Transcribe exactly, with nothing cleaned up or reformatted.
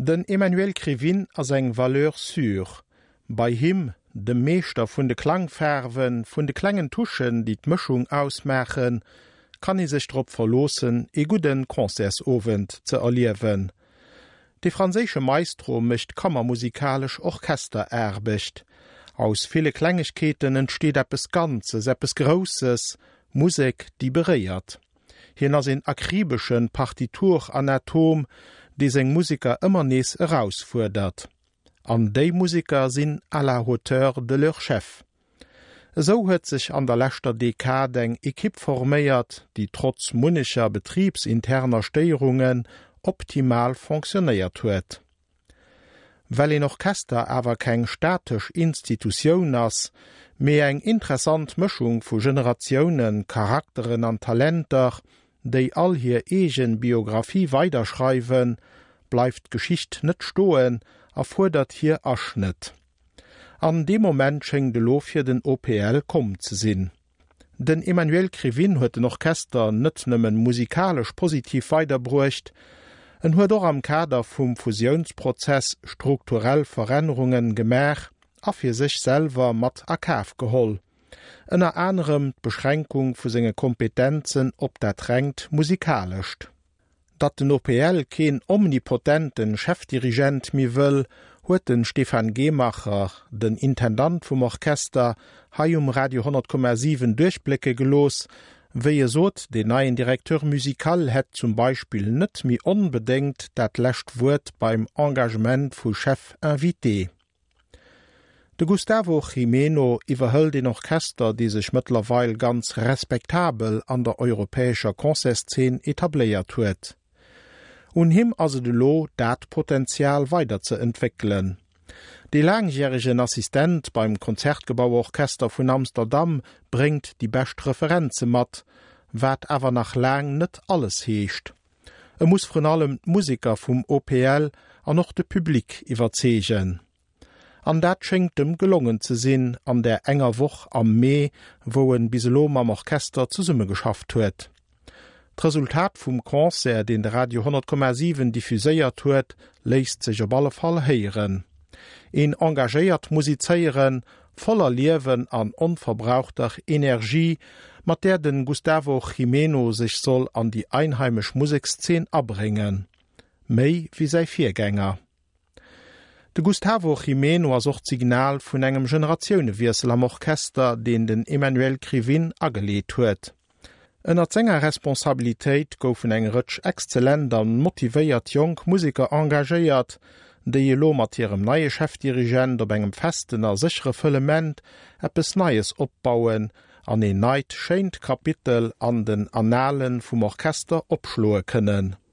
Den Emmanuel Krivin ass eng Valeur sûre. Bei him, de Meester vun de Klangfärwen, vun de klengen Tuschen, die d'Mëchung ausmachen, kann i sech drop verlosen, e guden Konzersowend ze erliewen. De franzésche Maestro mecht kammermusikalisch Orchester erbecht. Aus viele Klängigkeiten entsteht eppes Ganzes, eppes Grosses, Musik, die bereiert. Hinner sinn akribischen Partituranatom, die seng Musiker immer nees herausfordert. An déi Musiker sinn à la hauteur de leur Chef. So huet sich an der lächter Dekade eng Ekipp forméiert, die trotz munnischer betriebsinterner Steierungen optimal funktioniert huet. Well en Orchester awer keng statisch Institutioun ass, méi eng interessant Mëchung vu Generationioen, Charakteren an Talenter, déi all hier egen Biografie weiterschreiwen, bleift Geschicht net stoen, erfordert hier aschnet. An dem Moment schenkt de Lofir den O P L kom ze sinn. Den Emmanuel Krivin huet den Orchester net nëmmen musikalisch positiv weiterbruecht, en huet doch am Kader vum Fusionsprozess strukturell Veränderungen gemer, a fir sich selber mat akaf geholl. Ennner anderem Beschränkung vu senge Kompetenzen op dat drängt musikalischt. Dat den O P L keen omnipotenten Chefdirigent mi wëll, huet den Stefan Gemacher, den Intendant vum Orchester, hai um Radio hundert Komma sieben Durchblicke gelos, wéi e sot den neien Direkteur musikal hett zum Beispiel net mi unbedingt dat lächt Wurt beim Engagement vu Chef invité. De Gustavo Jimeno iwwerhëll den Orchester, die sech mittlerweile ganz respektabel an der europäescher Konzertszene etabliert huet. Un him also de lo dat Potenzial weiterzuentwickeln. Die langjährigen Assistent beim Konzertgebauorchester von Amsterdam bringt die best Referenze mat, wat awer nach lang net alles heescht. Er muss von allem Musiker vom O P L an noch de Publik iwwerzegen. An dat schenkt dem gelungen ze sinn an der enger Woch am Mai, wo en Biselom am Orchester zu Summe geschafft huet. D'Resultat vum Konzert, den der Radio hundert Komma sieben diffuséiert huet, leist sich op alle Fall heieren. En engagéiert Musizeieren, voller Liewen an unverbrauchter Energie, mat der den Gustavo Jimeno sich soll an die einheimisch Musikszen abbringen. Mei wie sei Viergänger. De Gustavo Jimeno as och Signal vun engem Generationiounewiersel am Orchester, den den Emmanuel Krivin ageleet huet. Ennner enger Responsabiltäit goufen eng rëtsch exzellent an motivéiert Jong Musiker engagéiert, déi lo mat hirem neie Chefdirigent op engem festen a sichere Fëlement eppes Neies opbauen, an e neit schéint Kapitel an den Annalen vum Orchester opschloe kënnen.